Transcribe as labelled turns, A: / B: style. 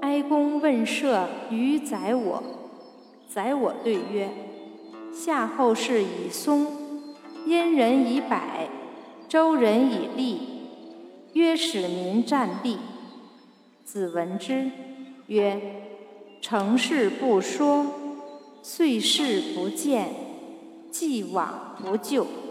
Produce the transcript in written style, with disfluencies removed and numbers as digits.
A: 哀公问社于宰我，宰我对曰：夏后氏以松，燕人以柏，周人以栗，曰使民战栗。子闻之，曰：成事不说，遂事不见，既往不咎。